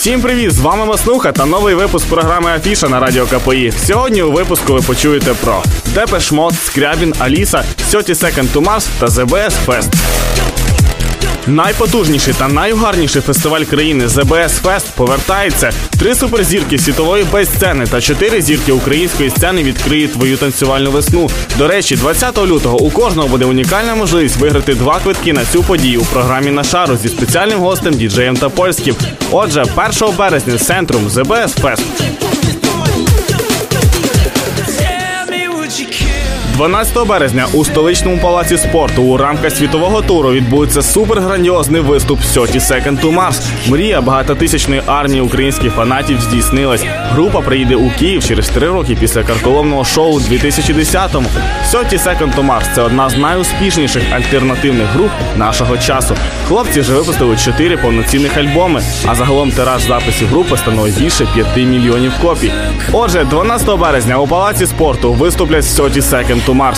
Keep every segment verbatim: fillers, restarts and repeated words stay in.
Всім привіт! З вами Маснуха та новий випуск програми Афіша на радіо КПІ. Сьогодні у випуску ви почуєте про Depeche Mode, Скрябін, Аліса, thirty seconds to Mars та The бі ес Fest. Найпотужніший та найугарніший фестиваль країни The бі ес Fest повертається. Три суперзірки світової бейс-сцени та чотири зірки української сцени відкриють твою танцювальну весну. До речі, двадцятого лютого у кожного буде унікальна можливість виграти два квитки на цю подію у програмі «На шару» зі спеціальним гостем діджеєм Топольським. Отже, першого березня Центрум The бі ес Fest. дванадцятого березня у столичному палаці спорту у рамках світового туру відбудеться суперграндіозний виступ thirty seconds to Mars. Мрія багатотисячної армії українських фанатів здійснилась. Група приїде у Київ через три роки після карколомного шоу у дві тисячі десятому. thirty seconds to Mars – це одна з найуспішніших альтернативних груп нашого часу. Хлопці вже випустили чотири повноцінних альбоми, а загалом тираж записів групи становить більше п'яти мільйонів копій. Отже, дванадцятого березня у палаці спорту виступлять thirty seconds to Mars.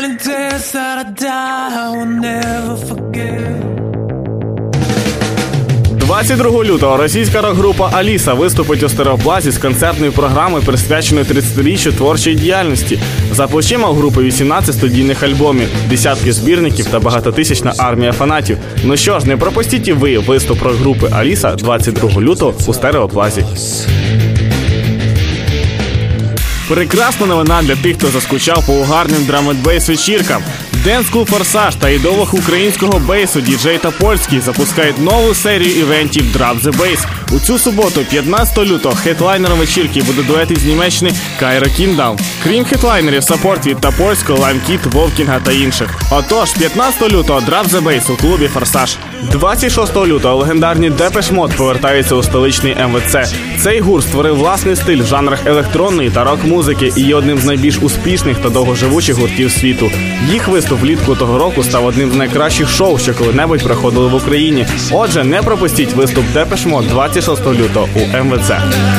двадцять другого лютого російська рок-група Аліса виступить у Стереоплазі з концертною програмою, присвяченою тридцятиріччю творчої діяльності. За плечима у групи вісімнадцять студійних альбомів, десятки збірників та багатотисячна армія фанатів. Ну що ж, не пропустіть і ви виступ рок-групи Аліса двадцять другого лютого у Стереоплазі. Прекрасна новина для тих, хто заскучав по угарним драм-н-бейс вечіркам. Dance Club Форсаж та ідолог українського бейсу діджей Топольський запускають нову серію івентів Drop the Bass. У цю суботу, п'ятнадцятого лютого, хедлайнером вечірки буде дует із Німеччини Кайро Кіндаун. Крім хедлайнерів, саппорт від Топольського, Лаймкіт, Вовкінга та інших. Отож, п'ятнадцятого лютого Drop the Bass у клубі Форсаж. двадцять шостого лютого легендарні Depeche Mode повертаються у столичний ем ве це. Цей гурт створив власний стиль в жанрах електронної та рок-музики і є одним з найбільш успішних та довгоживучих гуртів світу. Їх виступ влітку того року став одним з найкращих шоу, що коли-небудь проходили в Україні. Отже, не пропустіть виступ Depeche Mode двадцять шостого лютого у ем ве це.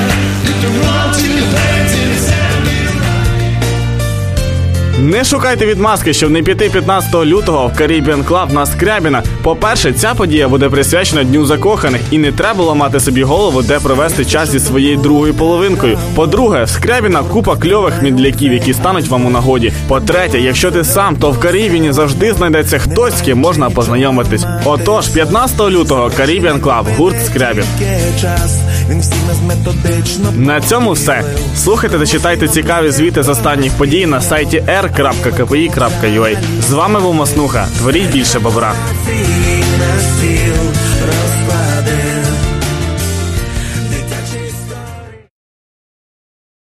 Не шукайте відмазки, щоб не піти п'ятнадцятого лютого в Caribbean Club на Скрябіна. По-перше, ця подія буде присвячена Дню закоханих і не треба ламати собі голову, де провести час зі своєю другою половинкою. По-друге, в Скрябіна купа кльових мідляків, які стануть вам у нагоді. По-третє, якщо ти сам, то в Карібіні завжди знайдеться хтось, з ким можна познайомитись. Отож, п'ятнадцятого лютого Caribbean Club, гурт Скрябін. На цьому все. Слухайте та читайте цікаві звіти з останніх подій на сайті ар крапка кей пі і крапка ю а. З вами був Маснуха. Творіть більше бобра.